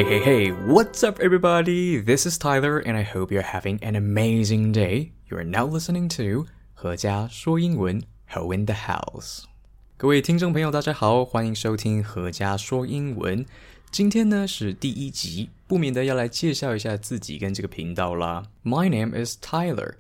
Hey, hey, hey, what's up, everybody? This is Tyler, and I hope you're having an amazing day. You are now listening to 何家说英文 Ho in the House. 各位听众朋友，大家好，欢迎收听何家说英文。今天呢是第一集，不免的要来介绍一下自己跟这个频道啦。My name is Tyler,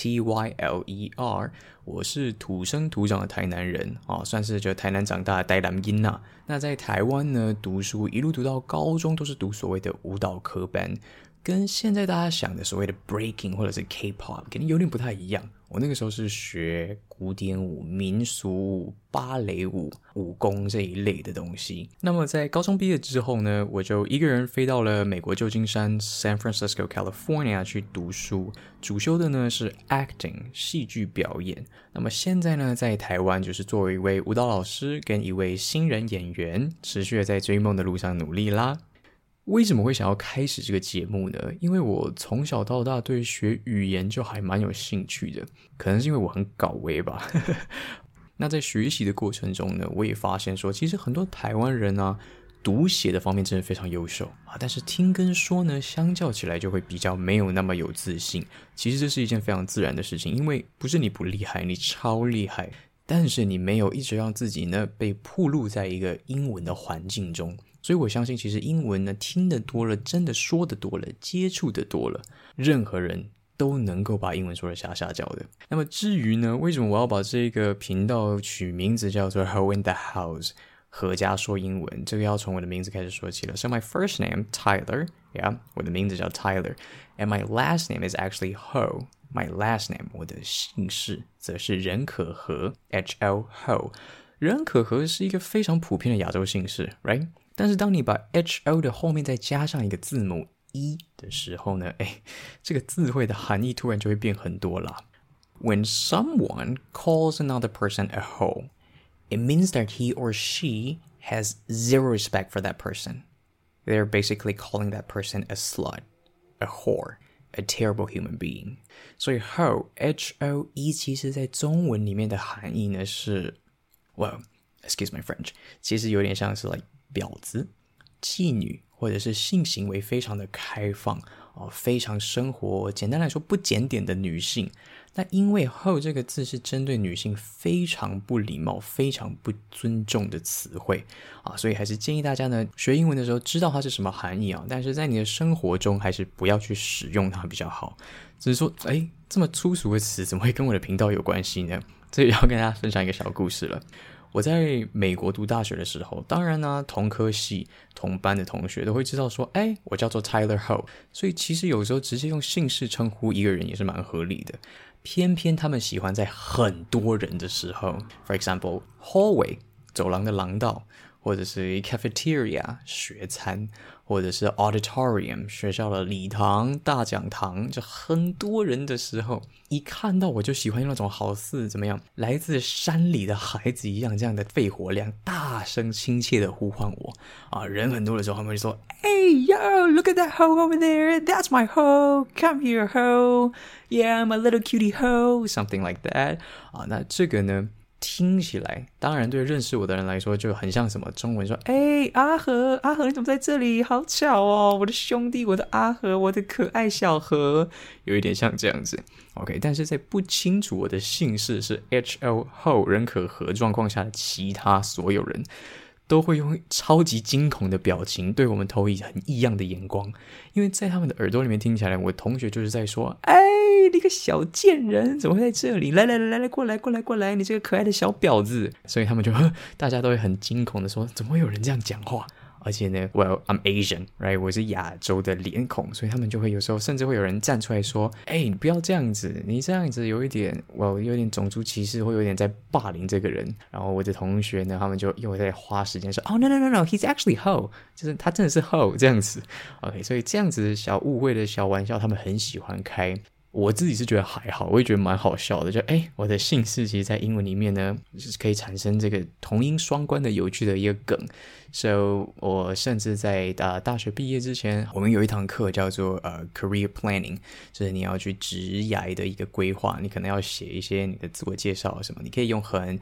T-Y-L-E-R. 我是土生土长的台南人算是就台南长大的台南囡仔。那在台湾呢，读书一路读到高中都是读所谓的舞蹈科班，跟现在大家想的所谓的 breaking 或者是 K-pop 肯定有点不太一样。我那个时候是学古典舞、民俗舞、芭蕾舞、武功这一类的东西。那么在高中毕业之后呢，我就一个人飞到了美国旧金山 San Francisco, California 去读书，主修的呢是 acting 戏剧表演。那么现在呢，在台湾就是作为一位舞蹈老师跟一位新人演员，持续的在追梦的路上努力啦。为什么会想要开始这个节目呢？因为我从小到大对学语言就还蛮有兴趣的，可能是因为我很搞威吧。那在学习的过程中呢，我也发现说，其实很多台湾人啊，读写的方面真的非常优秀但是听跟说呢，相较起来就会比较没有那么有自信。其实这是一件非常自然的事情，因为不是你不厉害，你超厉害，但是你没有一直让自己呢被暴露在一个英文的环境中。所以我相信其实英文呢，听得多了，真的说得多了，接触得多了，任何人都能够把英文说得下下脚的。那么至于呢，为什么我要把这个频道取名字叫做 Ho in the House 何家说英文，这个要从我的名字开始说起了。 So my first name Tyler, yeah, 我的名字叫 Tyler, and my last name is actually Ho. My last name, 我的姓氏则是任可和 H-O, Ho. 任可和是一个非常普遍的亚洲姓氏 right?但是当你把 H-O 的后面再加上一个字母 E 的时候呢，这个字汇的含义突然就会变很多啦。When someone calls another person a hoe, it means that he or she has zero respect for that person. They're basically calling that person a slut, a whore, a terrible human being. 所以 hoe, H-O-E 其实在中文里面的含义呢是 well, excuse my French, 其实有点像是 like婊子、妓女，或者是性行为非常的开放非常生活，简单来说不检点的女性。那因为 hoe 这个字是针对女性非常不礼貌、非常不尊重的词汇所以还是建议大家呢学英文的时候知道它是什么含义但是在你的生活中还是不要去使用它比较好。只是说这么粗俗的词怎么会跟我的频道有关系呢？这里要跟大家分享一个小故事了。我在美国读大学的时候，当然呢同科系同班的同学都会知道说我叫做 Tyler Ho， 所以其实有时候直接用姓氏称呼一个人也是蛮合理的。偏偏他们喜欢在很多人的时候， For example hallway 走廊的廊道，或者是 cafeteria 学餐，或者是 auditorium 学校的礼堂、大讲堂，就很多人的时候，一看到我就喜欢用那种好似怎么样来自山里的孩子一样这样的肺活量，大声亲切的呼唤我人很多的时候他们会说 Hey yo, look at that hoe over there, that's my hoe, come here hoe, yeah I'm a little cutie hoe, something like that 那这个呢听起来当然对认识我的人来说就很像什么中文说阿和你怎么在这里，好巧我的兄弟，我的阿和，我的可爱小和，有一点像这样子 OK， 但是在不清楚我的姓氏是 H-O 后任可和状况下的其他所有人都会用超级惊恐的表情对我们投以很异样的眼光，因为在他们的耳朵里面听起来，我同学就是在说你个小贱人怎么会在这里，来过来，你这个可爱的小婊子，所以他们就大家都会很惊恐的说怎么会有人这样讲话。而且呢 well I'm Asian, right? 我是亚洲的脸孔，所以他们就会有时候甚至会有人站出来说你不要这样子，你这样子有一点有点种族歧视，会有点在霸凌这个人。然后我的同学呢，他们就又在花时间说no he's actually hoe， 就是他真的是 hoe 这样子 OK， 所以这样子小误会的小玩笑他们很喜欢开。我自己是觉得还好，我也觉得蛮好笑的，就我的姓氏其实在英文里面呢就是可以产生这个同音双关的有趣的一个梗。So 我甚至在大学毕业之前，我们有一堂课叫做career planning， 就是你要去职涯的一个规划，你可能要写一些你的自我介绍什么，你可以用很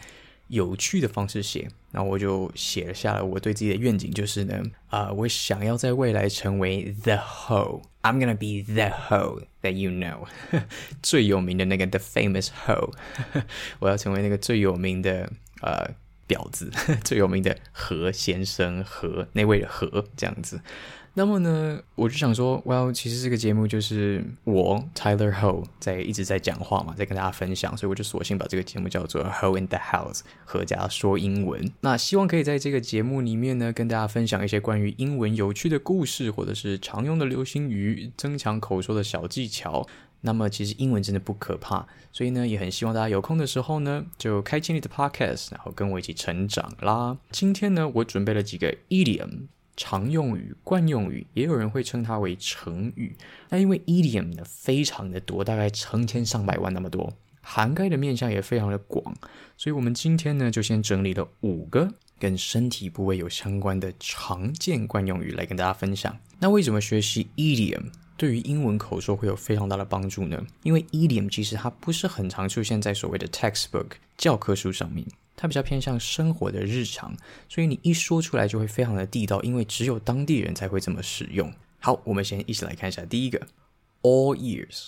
有趣的方式写，然后我就写了下来我对自己的愿景，就是呢，我想要在未来成为 the hoe， I'm gonna be the hoe that you know 最有名的那个 the famous hoe 我要成为那个最有名的婊子最有名的何先生，何那位的何这样子。那么呢，我就想说 well 其实这个节目就是我 Tyler Ho 一直在讲话嘛，在跟大家分享，所以我就索性把这个节目叫做 Ho in the House， 何家说英文。那希望可以在这个节目里面呢，跟大家分享一些关于英文有趣的故事，或者是常用的流行语，增强口说的小技巧。那么其实英文真的不可怕，所以呢也很希望大家有空的时候呢就开启你的 podcast， 然后跟我一起成长啦。今天呢我准备了几个 idiom，常用语、惯用语，也有人会称它为成语。那因为 idiom 呢非常的多，大概成千上百万那么多，涵盖的面向也非常的广，所以我们今天呢就先整理了5个跟身体部位有相关的常见惯用语来跟大家分享。那为什么学习 idiom 对于英文口说会有非常大的帮助呢？因为 idiom 其实它不是很常出现在所谓的 textbook 教科书上面，它比较偏向生活的日常，所以你一说出来就会非常的地道，因为只有当地人才会这么使用。好，我们先一起来看一下第一个 all ears。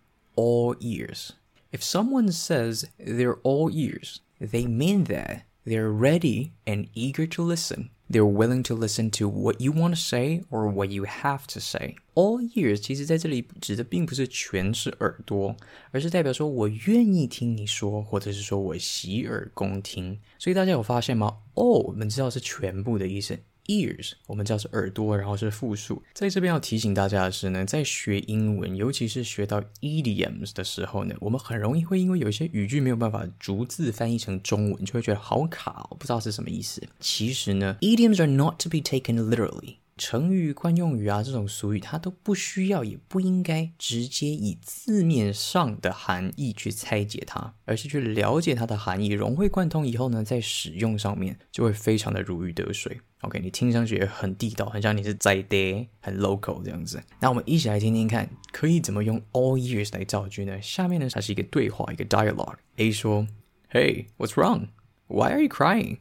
all ears， If someone says they're all ears, they mean that they're ready and eager to listen. They're willing to listen to what you want to say or what you have to say. All ears 其实在这里指的并不是全是耳朵，而是代表说我愿意听你说，或者是说我洗耳恭听。所以大家有发现吗？ all 我们知道是全部的意思， ears 我们知道是耳朵，然后是复数。在这边要提醒大家的是呢，在学英文，尤其是学到 idioms 的时候呢，我们很容易会因为有些语句没有办法逐字翻译成中文，就会觉得好卡不知道是什么意思。其实呢 idioms are not to be taken literally， 成语、惯用语啊这种俗语它都不需要也不应该直接以字面上的含义去拆解它，而是去了解它的含义，融会贯通以后呢，在使用上面就会非常的如鱼得水。OK， 你听上去也很地道，很像你是在地，很 local 这样子。那我们一起来听听看，可以怎么用 all ears 来造句呢？下面呢，它是一个对话，一个 dialogue。A 说 Hey, what's wrong? Why are you crying?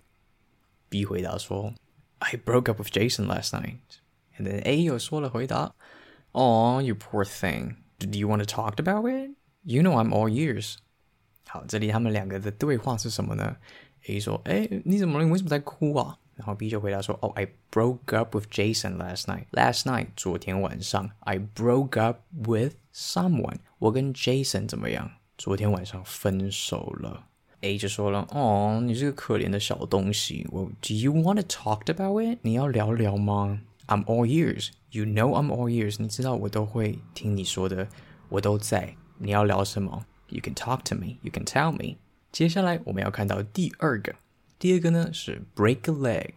B 回答说 I broke up with Jason last night. And then A 又说了回答 Oh, you poor thing. Do you want to talk about it? You know I'm all ears. 好，这里他们两个的对话是什么呢？ A 说你怎么了？你为什么在哭啊？然后 B 就回答说 I broke up with Jason last night. Last night 昨天晚上 I broke up with someone. 我跟 Jason 怎么样？昨天晚上分手了。 A 就说了你是个可怜的小东西。 Well, do you want to talk about it? 你要聊聊吗？ I'm all ears. You know I'm all ears. 你知道我都会听你说的，我都在。你要聊什么？ You can talk to me. You can tell me. 接下来我们要看到第二个呢是 break a leg.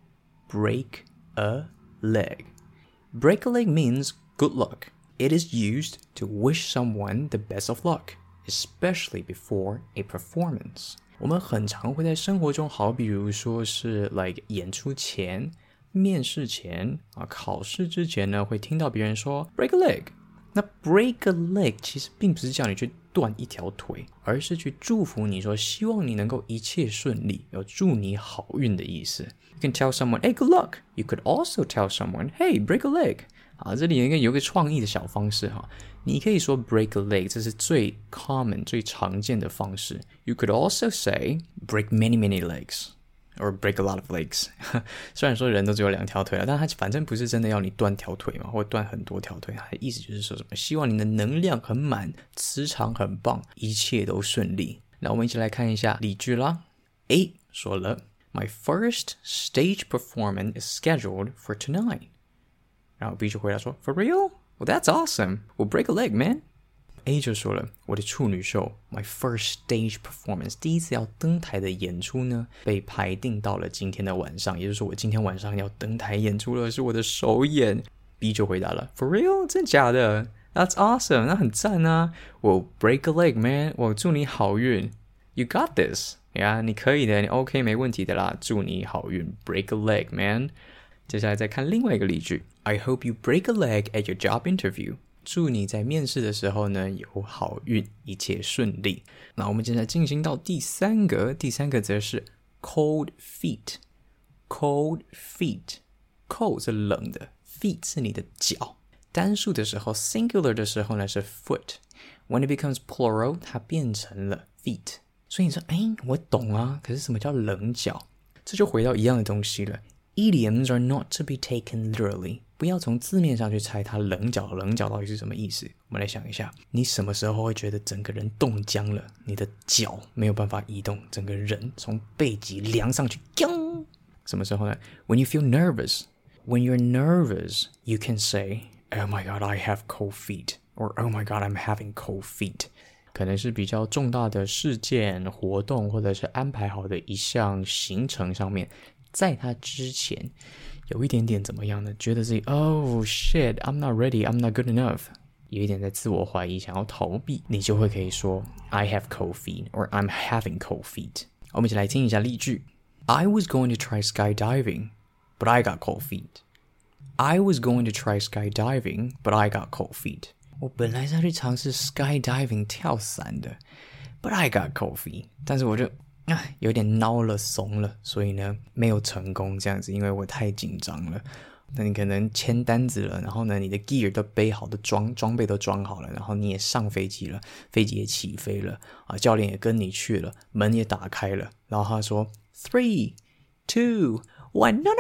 Break a leg. Break a leg means good luck. It is used to wish someone the best of luck, especially before a performance. 我们很常会在生活中，好比如说是 like 演出前、面试前考试之前呢，会听到别人说 break a leg。那 break a leg 其实并不是叫你去断一条腿，而是去祝福你说希望你能够一切顺利，有祝你好运的意思。You can tell someone, hey, good luck. You could also tell someone, hey, break a leg. 这里有一个创意的小方式你可以说 break a leg， 这是最 common 最常见的方式。You could also say break many many legs.Or break a lot of legs 虽然说人都只有2条腿但他反正不是真的要你断条腿嘛，或断很多条腿，他的意思就是说什么希望你的能量很满，磁场很棒，一切都顺利。那我们一起来看一下例句啦。 A 说了 My first stage performance is scheduled for tonight. 然后 B 就回答说 For real? Well, that's awesome. We'll break a leg, man.A 就说了我的处女秀 My first stage performance 第一次要登台的演出呢被排定到了今天的晚上，也就是说我今天晚上要登台演出了，是我的首演。 B 就回答了 For real? 真假的？ That's awesome. 那很赞啊。 Well, break a leg, man. 我祝你好运。 You got this. 你可以的，你 OK 没问题的啦，祝你好运。 Break a leg, man. 接下来再看另外一个例句 I hope you break a leg at your job interview. 祝你在面试的时候呢有好运，一切顺利。那我们接下来进行到第三个则是 cold feet。 cold feet， cold 是冷的， feet 是你的脚。单数的时候 singular 的时候呢是 foot， when it becomes plural 它变成了 feet。 所以你说我懂啊，可是什么叫冷脚？这就回到一样的东西了， idioms are not to be taken literally， 不要从字面上去猜它冷脚到底是什么意思。我们来想一下，你什么时候会觉得整个人冻僵了，你的脚没有办法移动，整个人从背脊凉上去，什么时候呢？ When you feel nervous. When you're nervous, you can say, oh my god, I have cold feet, or oh my god, I'm having cold feet。 可能是比较重大的事件活动，或者是安排好的一项行程上面，在它之前有一点点怎么样呢？觉得自己 oh shit, I'm not ready, I'm not good enough， 有一点在自我怀疑，想要逃避，你就会可以说 I have cold feet, or I'm having cold feet。 我们一起来听一下例句。 I was going to try skydiving, but I got cold feet. I was going to try skydiving, but I got cold feet. 我本来是要去尝试 skydiving 跳伞的， but I got cold feet。 但是我就有点孬了，怂了，所以呢没有成功这样子，因为我太紧张了。那你可能签单子了，然后呢你的 gear 都背好，的装备都装好了，然后你也上飞机了，飞机也起飞了教练也跟你去了，门也打开了，然后他说 3, 2, 1 no no no no no no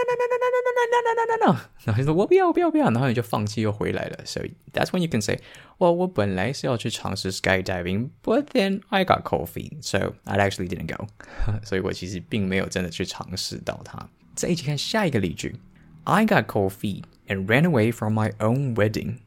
no no no no no no， 然后就说我不要，然后你就放弃又回来了。 So that's when you can say, well 我本来是要去尝试 skydiving, but then I got cold feet, so I actually didn't go。 所以我其实并没有真的去尝试到它。再一起看下一个例句。 I got cold feet and ran away from my own wedding.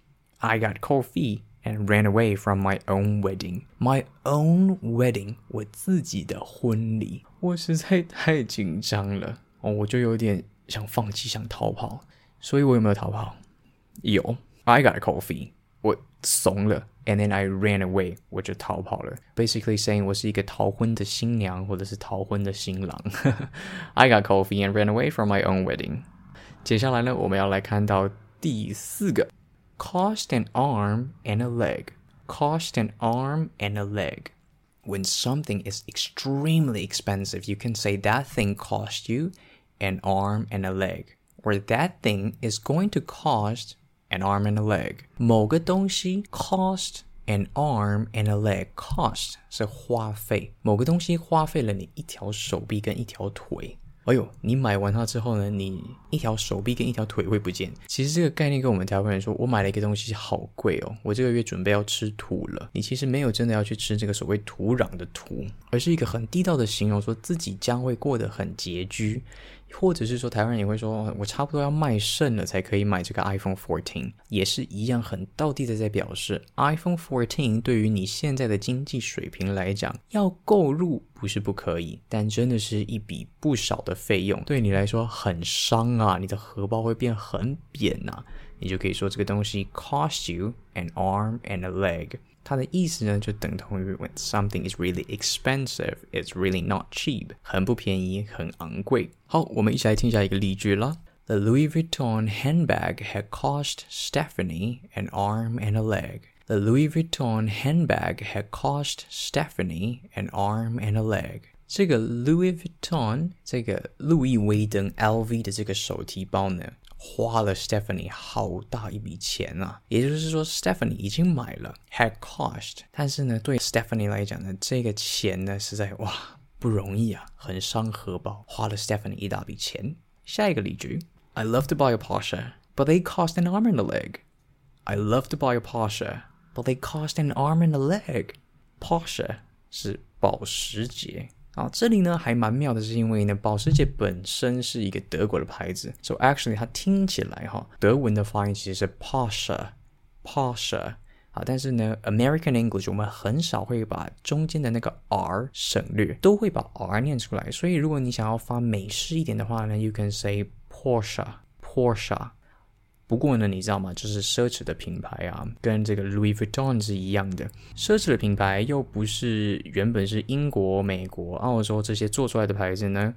I got cold feet and ran away from my own wedding. My own wedding， 我自己的婚礼。我实在太紧张了我就有点想放弃，想逃跑。所以我有没有逃跑？有。 I got cold feet， 我怂了， and then I ran away， 我就逃跑了。 Basically saying 我是一个逃婚的新娘，或者是逃婚的新郎。I got cold feet and ran away from my own wedding。 接下来呢，我们要来看到第四个 cost an arm and a leg。 Cost an arm and a leg。 When something is extremely expensive, you can say that thing cost you an arm and a leg, or that thing is going to cost an arm and a leg。 某个东西 cost an arm and a leg， cost 是花费，某个东西花费了你一条手臂跟一条腿。你买完它之后呢，你一条手臂跟一条腿会不见。其实这个概念跟我们台湾人说，我买了一个东西好贵我这个月准备要吃土了。你其实没有真的要去吃这个所谓土壤的土，而是一个很地道的形容，说自己将会过得很拮据。或者是说台湾人也会说我差不多要卖肾了才可以买这个 iPhone 14， 也是一样很道地的在表示 iPhone 14对于你现在的经济水平来讲要购入不是不可以，但真的是一笔不少的费用，对你来说很伤你的荷包会变很扁你就可以说这个东西 cost you an arm and a leg。它的意思呢，就等同于 when something is really expensive, it's really not cheap， 很不便宜，很昂贵。好，我们一起来听一下一个例句啦。The Louis Vuitton handbag had cost Stephanie an arm and a leg. The Louis Vuitton handbag had cost Stephanie an arm and a leg. 这个 Louis Vuitton， 这个路易威登 LV 的这个手提包呢，花了 Stephanie 好大一笔钱也就是说 Stephanie 已经买了 had cost， 但是呢对 Stephanie 来讲呢，这个钱呢实在不容易很伤荷包，花了 Stephanie 一大笔钱。下一个例句 I love to buy a Porsche, but they cost an arm and a leg. I love to buy a Porsche, but they cost an arm and a leg. Porsche 是保时捷这里呢还蛮妙的，是因为呢保时捷本身是一个德国的牌子， so actually 它听起来德文的发音其实是 Porsche 但是呢 American English 我们很少会把中间的那个 R 省略，都会把 R 念出来，所以如果你想要发美式一点的话呢 you can say Porsche。不过呢你知道吗，就是奢侈的品牌跟这个 Louis Vuitton 是一样的，奢侈的品牌又不是原本是英国、美国、澳洲这些做出来的牌子呢，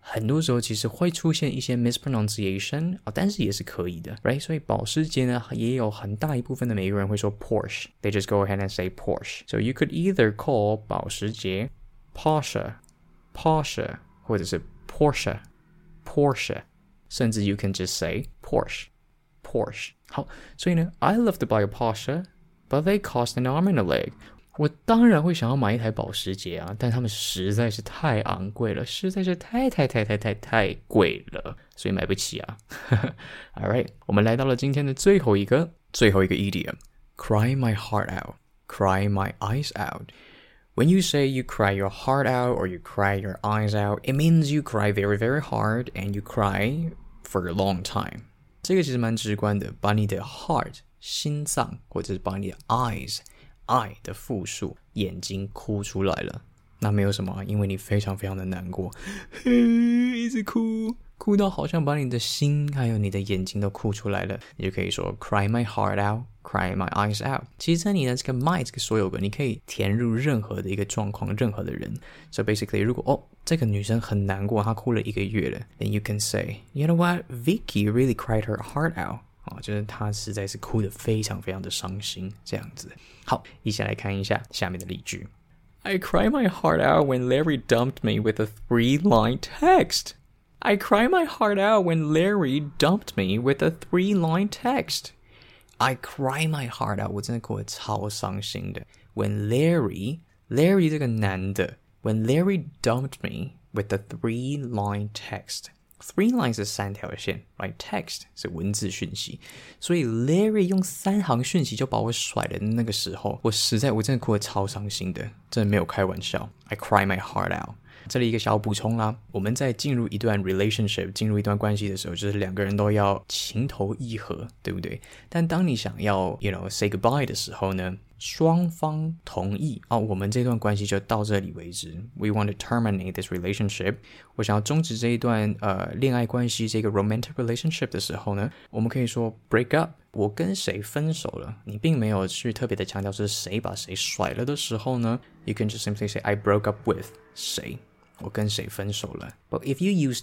很多时候其实会出现一些 mispronunciation 但是也是可以的 right？ 所以保时捷呢也有很大一部分的美国人会說 Porsche， they just go ahead and say Porsche. So you could either call 保時捷 Porsche 或者是 Porsche 甚至 you can just say Porsche. 好，所以呢 I love to buy a Porsche but they cost an arm and a leg. 我当然会想要买一台保时捷啊，但他们实在是太昂贵了，实在是太贵了，所以买不起啊。Alright， 我们来到了今天的最后一个 idiom， cry my heart out, cry my eyes out. When you say you cry your heart out or you cry your eyes out, it means you cry very, very hard and you cry for a long time. 这个其实蛮直观的，把你的 heart 心脏，或者是把你的 eyes eye 的复数眼睛哭出来了，那没有什么啊，因为你非常非常的难过，一直哭到好像把你的心还有你的眼睛都哭出来了，你就可以说 cry my heart out, cry my eyes out. 其实在你的这个 my 这个所有格，你可以填入任何的一个状况，任何的人。So basically 如果这个女生很难过，她哭了1个月了， then you can say, you know what, Vicky really cried her heart out. 就是她实在是哭得非常非常的伤心，这样子。好，一起来看一下下面的例句。I cry my heart out when Larry dumped me with a 3-line text. I cry my heart out when Larry dumped me with a 3-line text. I cry my heart out， 我真的哭得超伤心的。When Larry 这个男的 when Larry dumped me with a 3-line text。3 lines 是3条线 right? Text 是文字讯息，所以 Larry 用3行讯息就把我甩了的那个时候，我真的哭得超伤心的，真的没有开玩笑。I cry my heart out。这里一个小补充啦，我们在进入一段 relationship 进入一段关系的时候，就是2个人都要情投意合，对不对？但当你想要 say goodbye 的时候呢，双方同意我们这段关系就到这里为止， we want to terminate this relationship， 我想要终止这一段恋爱关系，这个 romantic relationship 的时候呢，我们可以说 break up， 我跟谁分手了，你并没有去特别的强调是谁把谁甩了的时候呢， you can just simply say I broke up with 谁，我跟谁分手了。 But if you use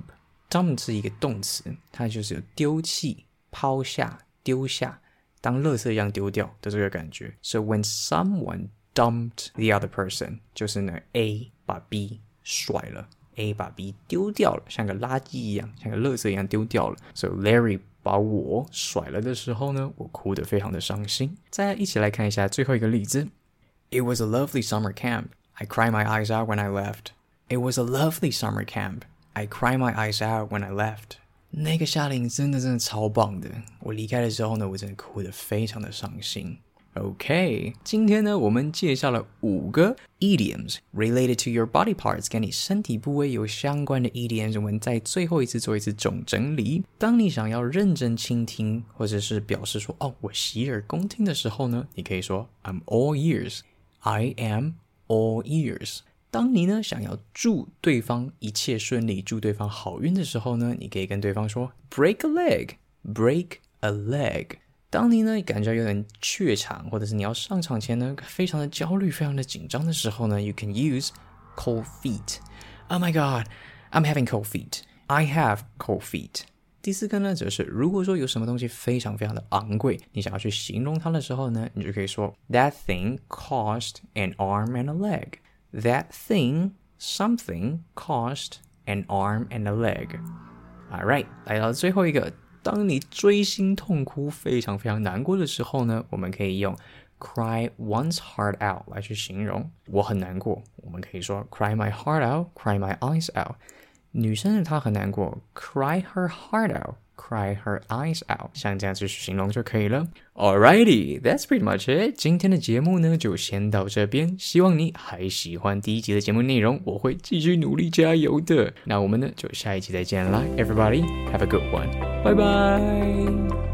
dump 是一个动词，它就是有丢弃、抛下、丢下，当垃圾一样丢掉的这个感觉。 So when someone dumped the other person， 就是呢 A 把 B 甩了， A 把 B 丢掉了，像个垃圾一样，像个垃圾一样丢掉了。 So Larry 把我甩了的时候呢，我哭得非常的伤心。再一起来看一下最后一个例子。 It was a lovely summer camp. I cried my eyes out when I left.It was a lovely summer camp. I cried my eyes out when I left. 那个夏令营真的超棒的，我离开的时候呢，我真的哭得非常的伤心。OK， 今天呢，我们介绍了5个 idioms related to your body parts， 跟你身体部位有相关的 idioms， 我们再最后一次做一次总整理。当你想要认真倾听，或者是表示说我洗耳恭听的时候呢，你可以说 I'm all ears. I am all ears。当你呢想要祝对方一切顺利，祝对方好运的时候呢，你可以跟对方说 break a leg。 当你呢感觉有点怯场，或者是你要上场前呢非常的焦虑，非常的紧张的时候呢， you can use cold feet. Oh my god, I'm having cold feet. I have cold feet. 第4个呢则是如果说有什么东西非常非常的昂贵，你想要去形容它的时候呢，你就可以说 That thing cost an arm and a leg.That thing, something, cost an arm and a leg. Alright, 来到最后一个，当你锥心痛哭非常非常难过的时候呢，我们可以用 cry one's heart out 来去形容我很难过，我们可以说 cry my heart out, cry my eyes out。 女生她很难过 cry her heart out, cry her eyes out， 像这样子去形容就可以了。 Alrighty, that's pretty much it。 今天的节目呢就先到这边，希望你还喜欢第1集的节目内容，我会继续努力加油的。那我们呢就下一集再见啦， Everybody have a good one， 拜拜。